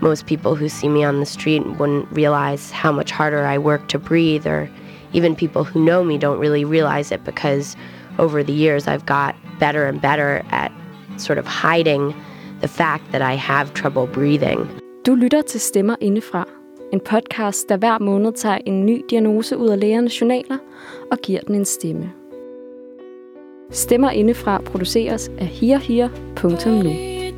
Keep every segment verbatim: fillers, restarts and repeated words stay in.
most people who see me on the street wouldn't realize how much harder I work to breathe, or even people who know me don't really realize it because over the years I've got better and better at sort of hiding the fact that I have trouble breathing. Du lytter til Stemmer Indefra, en podcast, der hver måned tager en ny diagnose ud af lægernes journaler og giver den en stemme. Stemmer Indefra produceres af HearHear punktum nu.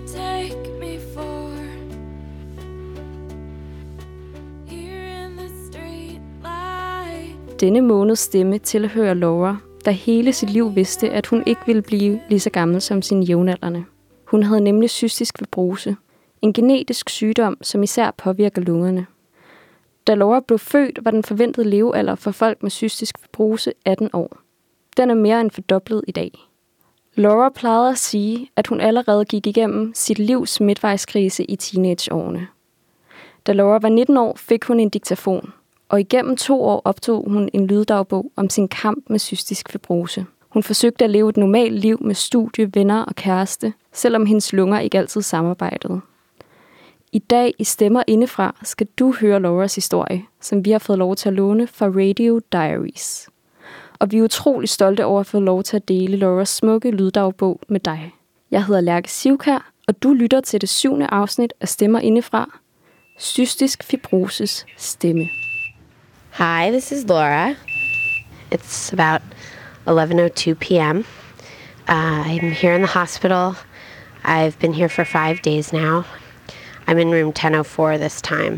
Denne måneds stemme tilhører Laura, der hele sit liv vidste, at hun ikke ville blive lige så gammel som sine jævnaldrende. Hun havde nemlig cystisk fibrose, en genetisk sygdom, som især påvirker lungerne. Da Laura blev født, var den forventede levealder for folk med cystisk fibrose atten år. Den er mere end fordoblet i dag. Laura plejede at sige, at hun allerede gik igennem sit livs midtvejskrise i teenageårene. Da Laura var nitten år, fik hun en diktafon, og igennem to år optog hun en lyddagbog om sin kamp med cystisk fibrose. Hun forsøgte at leve et normalt liv med studie, venner og kæreste, selvom hendes lunger ikke altid samarbejdede. I dag i Stemmer Indefra skal du høre Lauras historie, som vi har fået lov til at låne fra Radio Diaries. Og vi er utrolig stolte over at få lov til at dele Lauras smukke lyddagbog med dig. Jeg hedder Lærke Sivkær, og du lytter til det syvende afsnit af Stemmer Indefra, cystisk fibroses stemme. Hi, this is Laura. It's about eleven oh two p.m. Uh, I'm here in the hospital. I've been here for five days now. I'm in room ten oh four this time.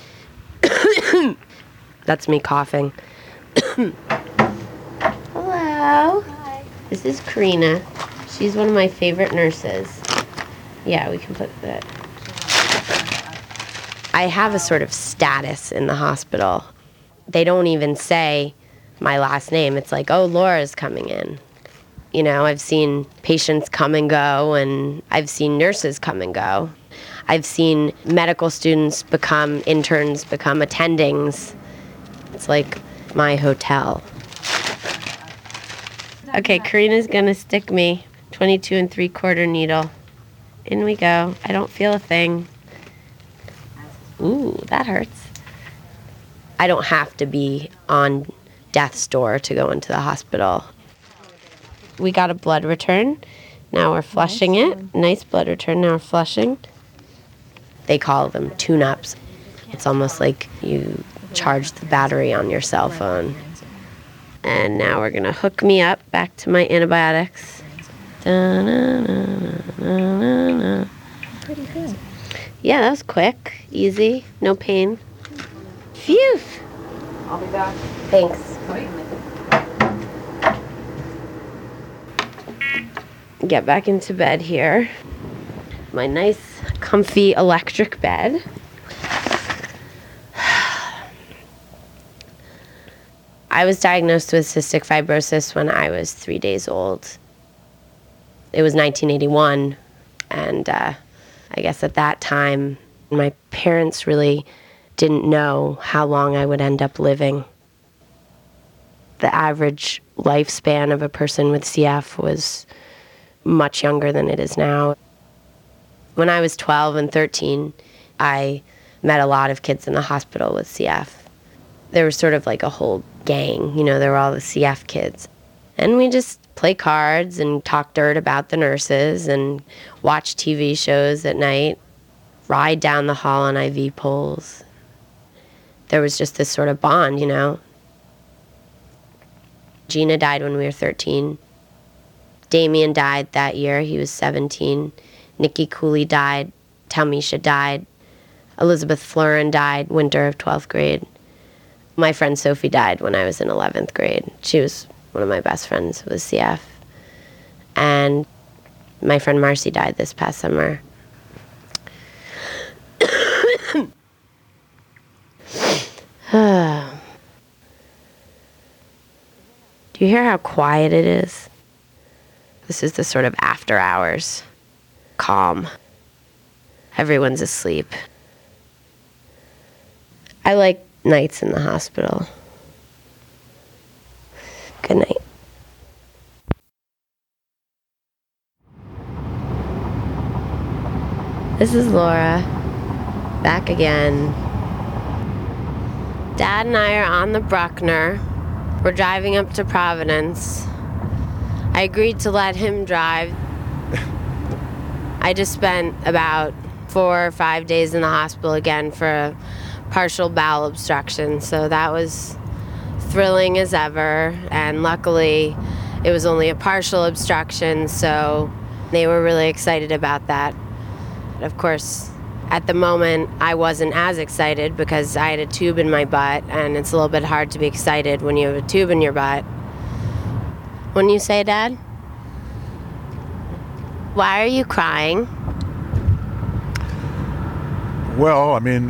That's me coughing. Hello. Hi. This is Karina. She's one of my favorite nurses. Yeah, we can put that. I have a sort of status in the hospital. They don't even say my last name. It's like, oh, Laura's coming in. You know, I've seen patients come and go, and I've seen nurses come and go. I've seen medical students become interns, become attendings. It's like my hotel. Okay, Karina's gonna stick me. twenty-two and three quarter needle. In we go. I don't feel a thing. Ooh, that hurts. I don't have to be on death's door to go into the hospital. We got a blood return. Now we're flushing nice. it. Nice blood return. Now we're flushing. They call them tune-ups. It's almost like you charge the battery on your cell phone. And now we're going to hook me up back to my antibiotics. Da-na-na-na-na-na. Pretty good. Yeah, that was quick, easy, no pain. Phew. I'll be back. Thanks. Get back into bed here. My nice, comfy electric bed. I was diagnosed with cystic fibrosis when I was three days old. It was nineteen eighty-one, and uh, I guess at that time, my parents really didn't know how long I would end up living. The average lifespan of a person with C F was much younger than it is now. When I was twelve and thirteen, I met a lot of kids in the hospital with C F. There was sort of like a whole gang, you know, there were all the C F kids. And we just play cards and talk dirt about the nurses and watch T V shows at night, ride down the hall on I V poles. There was just this sort of bond, you know. Gina died when we were thirteen. Damien died that year. He was seventeen. Nikki Cooley died. Talmisha died. Elizabeth Florin died winter of twelfth grade. My friend Sophie died when I was in eleventh grade. She was one of my best friends with C F. And my friend Marcy died this past summer. Do you hear how quiet it is? This is the sort of after hours. Calm. Everyone's asleep. I like nights in the hospital. Good night. This is Laura. Back again. Dad and I are on the Bruckner. We're driving up to Providence. I agreed to let him drive. I just spent about four or five days in the hospital again for a partial bowel obstruction, so that was thrilling as ever, and luckily it was only a partial obstruction, so they were really excited about that. Of course, at the moment, I wasn't as excited because I had a tube in my butt, and it's a little bit hard to be excited when you have a tube in your butt. Wouldn't you say, Dad? Why are you crying? Well, I mean,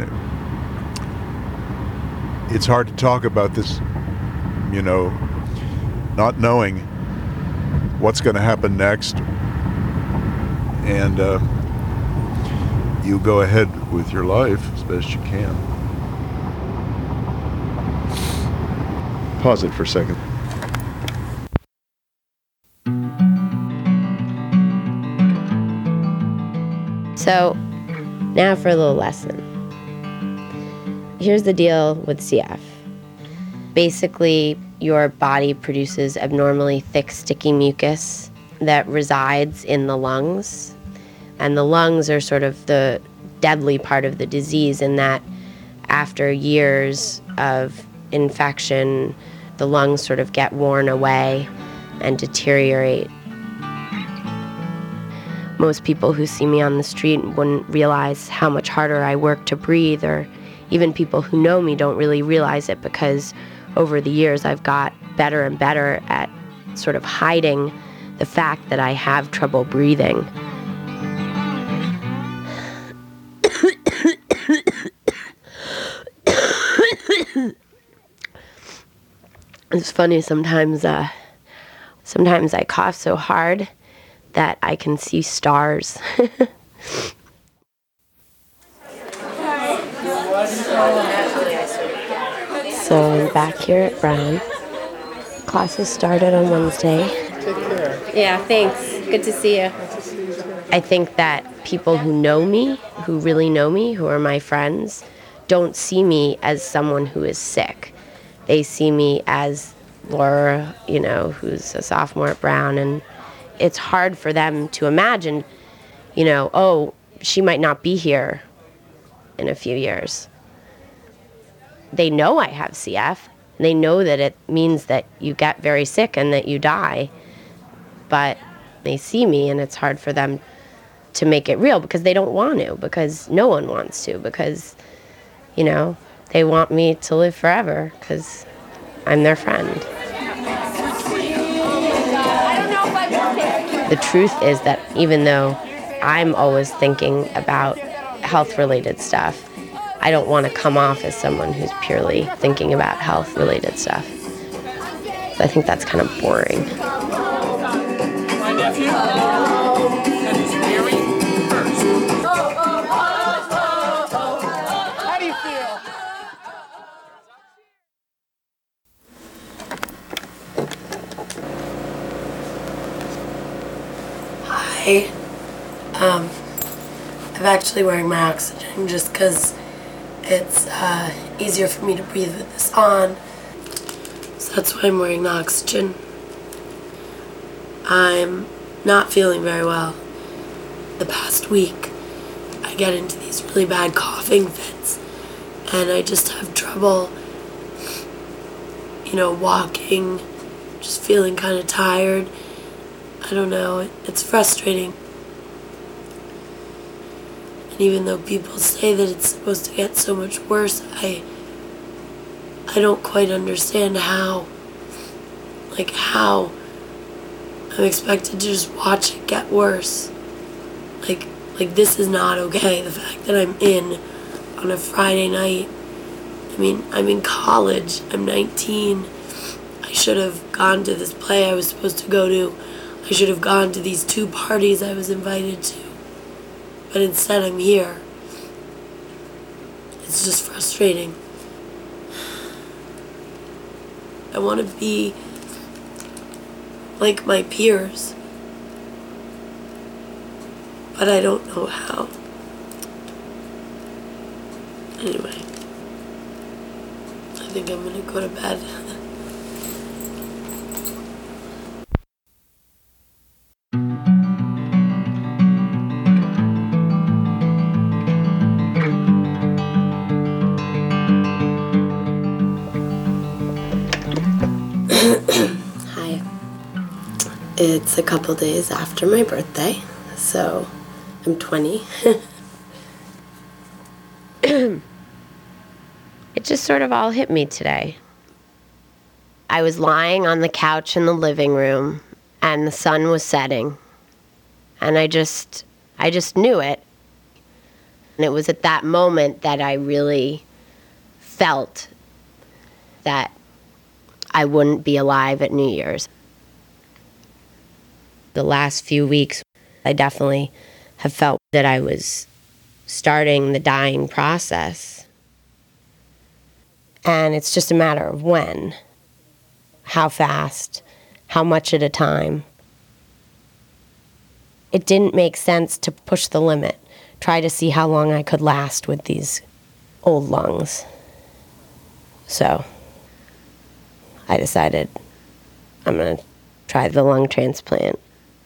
it's hard to talk about this, you know, not knowing what's going to happen next. And uh, you go ahead with your life as best you can. Pause it for a second. So, now for a little lesson. Here's the deal with C F. Basically, your body produces abnormally thick, sticky mucus that resides in the lungs. And the lungs are sort of the deadly part of the disease in that after years of infection, the lungs sort of get worn away and deteriorate. Most people who see me on the street wouldn't realize how much harder I work to breathe, or even people who know me don't really realize it because over the years I've got better and better at sort of hiding the fact that I have trouble breathing. It's funny, sometimes, uh, sometimes I cough so hard that I can see stars. So I'm back here at Brown. Classes started on Wednesday. Take care. Yeah, thanks. Good to see you. I think that people who know me, who really know me, who are my friends, don't see me as someone who is sick. They see me as Laura, you know, who's a sophomore at Brown, and it's hard for them to imagine, you know, oh, she might not be here in a few years. They know I have C F. They know that it means that you get very sick and that you die. But they see me and it's hard for them to make it real because they don't want to, because no one wants to, because, you know, they want me to live forever because I'm their friend. The truth is that even though I'm always thinking about health-related stuff, I don't want to come off as someone who's purely thinking about health-related stuff. So I think that's kind of boring. My nephew, and he's very first. How do you feel? Hi. Um, I'm actually wearing my oxygen just because it's uh, easier for me to breathe with this on. So that's why I'm wearing the oxygen. I'm not feeling very well. The past week, I get into these really bad coughing fits, and I just have trouble, you know, walking, just feeling kind of tired. I don't know, it, it's frustrating. And even though people say that it's supposed to get so much worse, I I don't quite understand how. Like how I'm expected to just watch it get worse. Like like this is not okay. The fact that I'm in on a Friday night. I mean, I'm in college. I'm nineteen. I should have gone to this play I was supposed to go to. I should have gone to these two parties I was invited to. But instead I'm here. It's just frustrating. I want to be like my peers. But I don't know how. Anyway, I think I'm gonna go to bed. Hi. It's a couple days after my birthday, so I'm twenty. It just sort of all hit me today. I was lying on the couch in the living room, and the sun was setting. And I just, I just knew it. And it was at that moment that I really felt that I wouldn't be alive at New Year's. The last few weeks, I definitely have felt that I was starting the dying process. And it's just a matter of when, how fast, how much at a time. It didn't make sense to push the limit, try to see how long I could last with these old lungs. So I decided I'm going to try the lung transplant.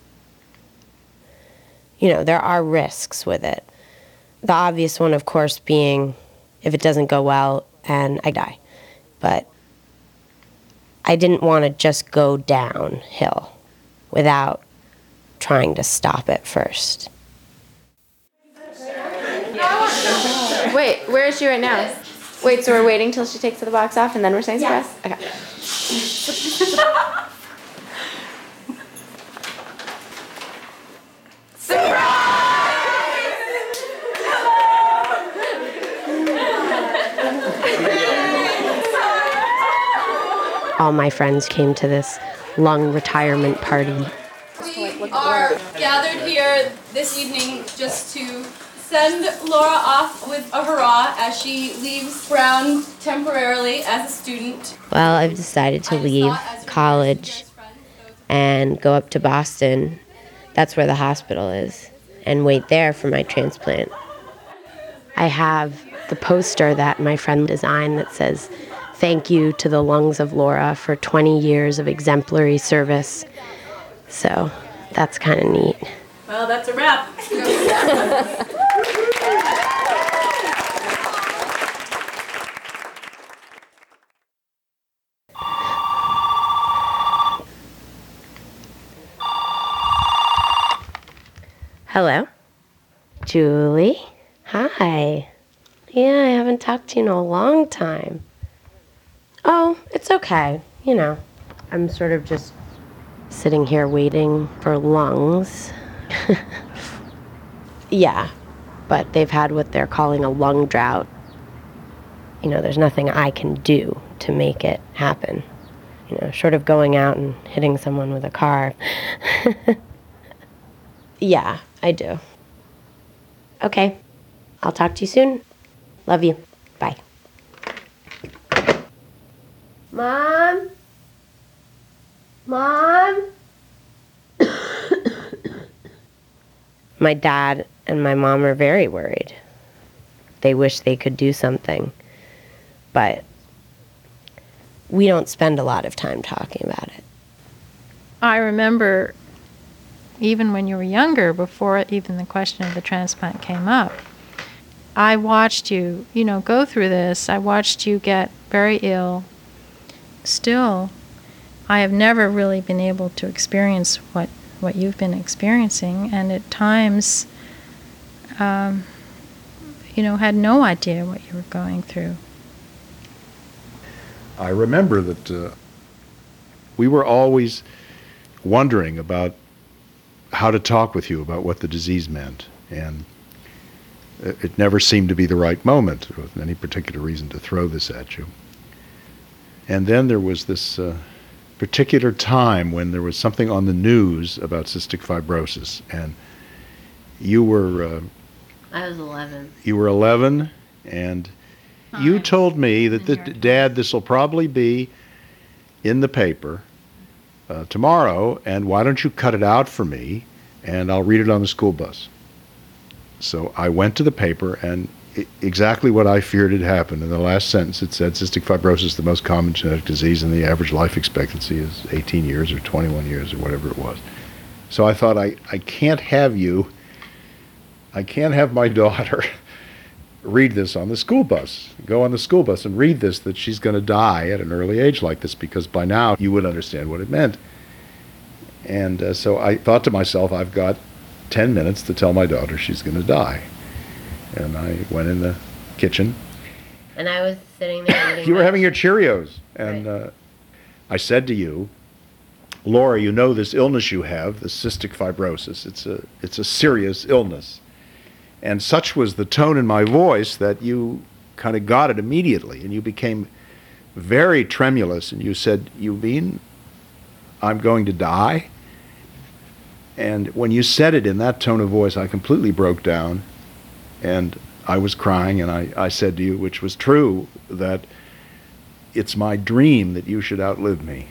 You know, there are risks with it. The obvious one, of course, being if it doesn't go well and I die. But I didn't want to just go downhill without trying to stop it first. Wait, where is she right now? Wait, so we're waiting till she takes the box off and then we're saying surprise? Okay. All my friends came to this lung retirement party. We are gathered here this evening just to send Laura off with a hurrah as she leaves Brown temporarily as a student. Well, I've decided to leave college and go up to Boston. That's where the hospital is, and wait there for my transplant. I have the poster that my friend designed that says, "Thank you to the lungs of Laura for twenty years of exemplary service." So that's kind of neat. Well, that's a wrap. Hello? Julie? Hi. Yeah, I haven't talked to you in a long time. Oh, it's okay. You know, I'm sort of just sitting here waiting for lungs. Yeah, but they've had what they're calling a lung drought. You know, there's nothing I can do to make it happen. You know, short of going out and hitting someone with a car. Yeah, I do. Okay, I'll talk to you soon. Love you. Bye. Mom? Mom? My dad and my mom are very worried. They wish they could do something, but we don't spend a lot of time talking about it. I remember even when you were younger, before even the question of the transplant came up, I watched you, you know, go through this. I watched you get very ill. Still, I have never really been able to experience what, what you've been experiencing, and at times, um, you know, had no idea what you were going through. I remember that uh, we were always wondering about how to talk with you about what the disease meant, and it, it never seemed to be the right moment with any particular reason to throw this at you. And then there was this uh, particular time when there was something on the news about cystic fibrosis, and you were uh, I was eleven. You were eleven, and Hi. You told me that, that Dad, this will probably be in the paper uh, tomorrow, and why don't you cut it out for me, and I'll read it on the school bus. So I went to the paper, and I- exactly what I feared had happened. In the last sentence, it said cystic fibrosis, the most common genetic disease, and the average life expectancy is eighteen years or twenty-one years or whatever it was. So I thought, I, I can't have you, I can't have my daughter read this on the school bus, go on the school bus and read this, that she's going to die at an early age like this, because by now you would understand what it meant. And uh, so I thought to myself, I've got ten minutes to tell my daughter she's going to die. And I went in the kitchen. And I was sitting there eating You were my- having your Cheerios. And Right. uh, I said to you, Laura, you know this illness you have, the cystic fibrosis. It's a, it's a serious illness. And such was the tone in my voice that you kind of got it immediately. And you became very tremulous. And you said, you mean I'm going to die? And when you said it in that tone of voice, I completely broke down. And I was crying, and I, I said to you, which was true, that it's my dream that you should outlive me.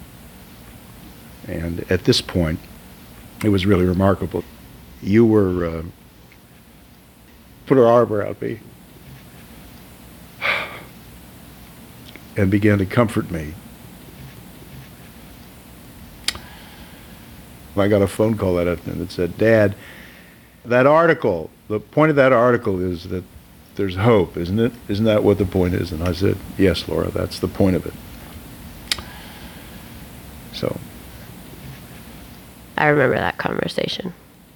And at this point, it was really remarkable. You were, uh, put her arm around me and began to comfort me. I got a phone call that afternoon that said, Dad, that article, the point of that article is that there's hope, isn't it? Isn't that what the point is? And I said, yes, Laura, that's the point of it. So. I remember that conversation.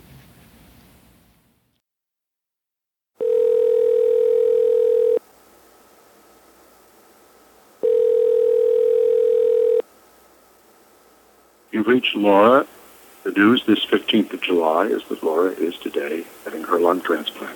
You've reached Laura. The news this fifteenth of July is that Laura is today having her lung transplant.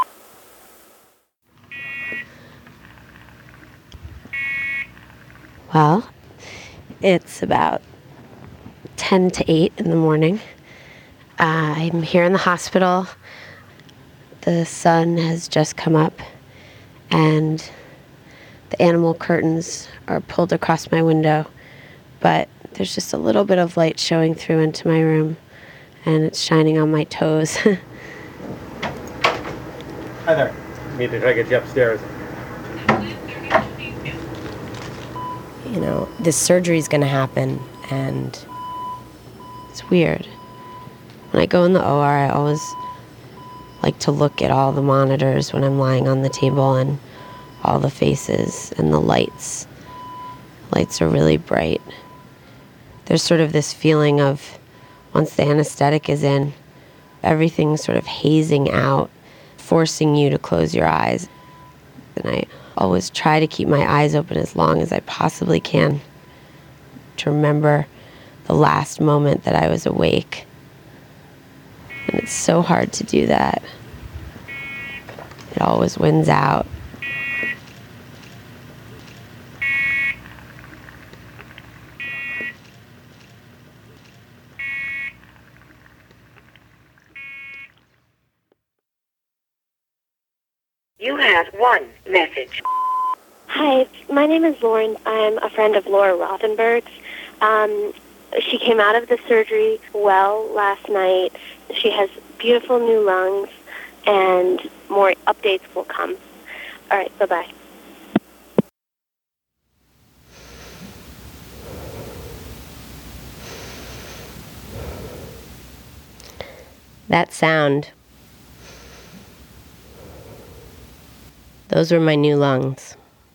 Well, it's about ten to eight in the morning. Uh, I'm here in the hospital. The sun has just come up, and the animal curtains are pulled across my window, but there's just a little bit of light showing through into my room, and it's shining on my toes. Hi there. Need to try to get you upstairs. You know, this surgery's gonna happen, and it's weird. When I go in the O R, I always like to look at all the monitors when I'm lying on the table, and all the faces and the lights. Lights are really bright. There's sort of this feeling of, once the anesthetic is in, everything's sort of hazing out, forcing you to close your eyes. And I always try to keep my eyes open as long as I possibly can, to remember the last moment that I was awake. And it's so hard to do that. It always wins out. You have one message. Hi, my name is Lauren. I'm a friend of Laura Rothenberg's. Um, she came out of the surgery well last night. She has beautiful new lungs, and more updates will come. All right, bye-bye. That sound, those were my new lungs.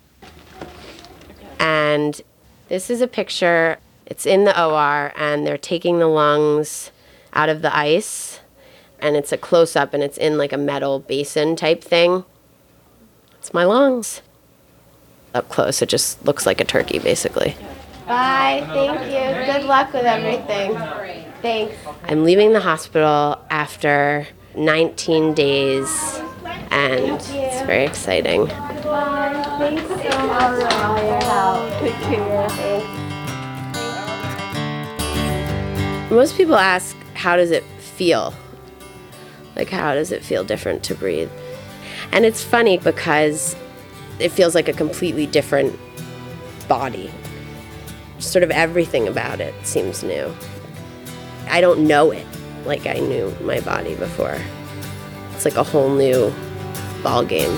And this is a picture, it's in the O R, and they're taking the lungs out of the ice, and it's a close-up, and it's in like a metal basin type thing. It's my lungs. Up close, it just looks like a turkey, basically. Bye, thank you. Good luck with everything. Thanks. I'm leaving the hospital after nineteen days, and it's very exciting. Thanks so much for all your help. Take care. Thanks. Most people ask, how does it feel? Like, how does it feel different to breathe? And it's funny because it feels like a completely different body. Sort of everything about it seems new. I don't know it like I knew my body before. It's like a whole new ball game.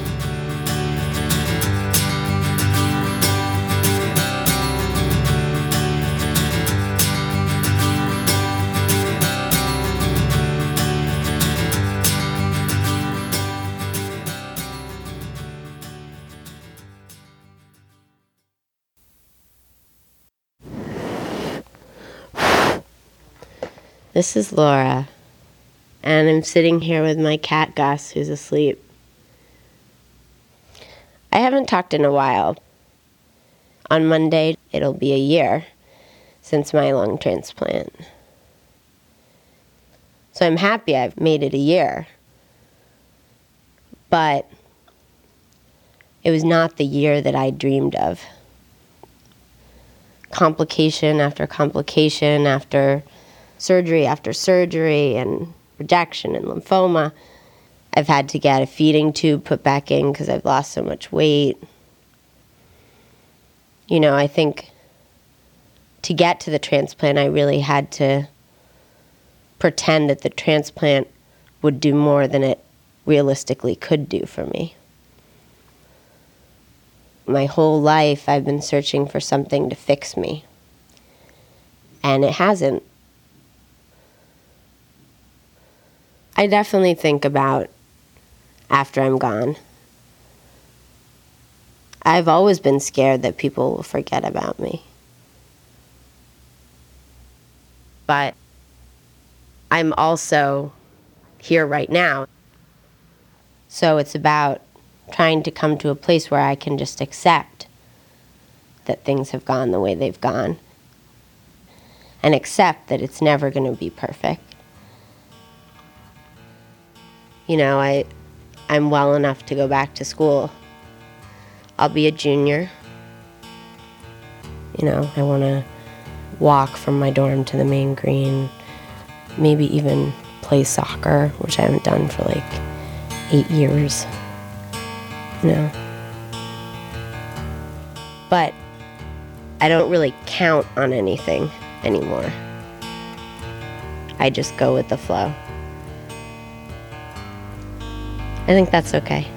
This is Laura, and I'm sitting here with my cat Gus, who's asleep. I haven't talked in a while. On Monday, it'll be a year since my lung transplant. So I'm happy I've made it a year. But it was not the year that I dreamed of. Complication after complication after surgery after surgery and rejection and lymphoma. I've had to get a feeding tube put back in because I've lost so much weight. You know, I think to get to the transplant, I really had to pretend that the transplant would do more than it realistically could do for me. My whole life, I've been searching for something to fix me, and it hasn't. I definitely think about after I'm gone. I've always been scared that people will forget about me. But I'm also here right now. So it's about trying to come to a place where I can just accept that things have gone the way they've gone. And accept that it's never going to be perfect. You know, I, I'm well enough to go back to school. I'll be a junior. You know, I want to walk from my dorm to the main green, maybe even play soccer, which I haven't done for like eight years. You know. But I don't really count on anything anymore. I just go with the flow. I think that's okay.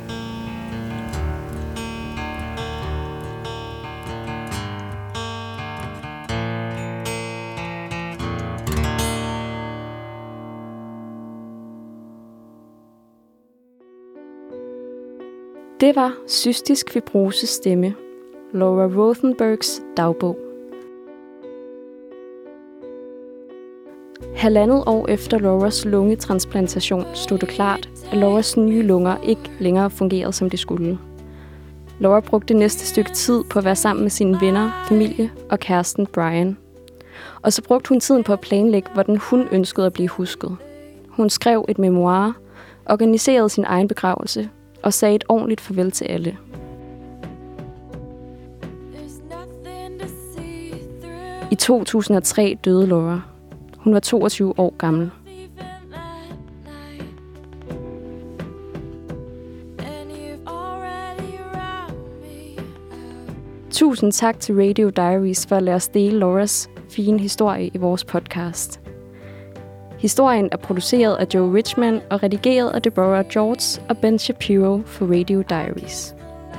Det var cystisk fibroses stemme, Laura Rothenbergs dagbog. Halvandet år efter Lauras lungetransplantation stod det klart, at Lauras nye lunger ikke længere fungerede, som de skulle. Laura brugte næste stykke tid på at være sammen med sine venner, familie og kæresten Brian. Og så brugte hun tiden på at planlægge, hvordan hun ønskede at blive husket. Hun skrev et memoir, organiserede sin egen begravelse og sagde et ordentligt farvel til alle. I to tusind og tre døde Laura. Hun var toogtyve år gammel. Tusind tak til Radio Diaries for at lade os dele Lauras fine historie i vores podcast. Historien er produceret af Joe Richman og redigeret af Deborah George og Ben Shapiro for Radio Diaries.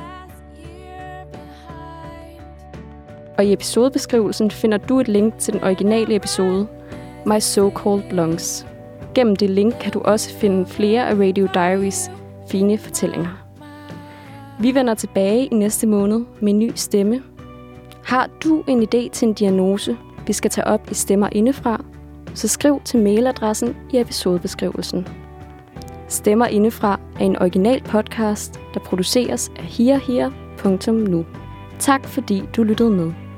Og i episodebeskrivelsen finder du et link til den originale episode, My So-Called Lungs. Gennem det link kan du også finde flere af Radio Diaries fine fortællinger. Vi vender tilbage i næste måned med en ny stemme. Har du en idé til en diagnose, vi skal tage op i Stemmer Indefra, så skriv til mailadressen i episodebeskrivelsen. Stemmer Indefra er en original podcast, der produceres af hearhere punktum nu. Tak fordi du lyttede med.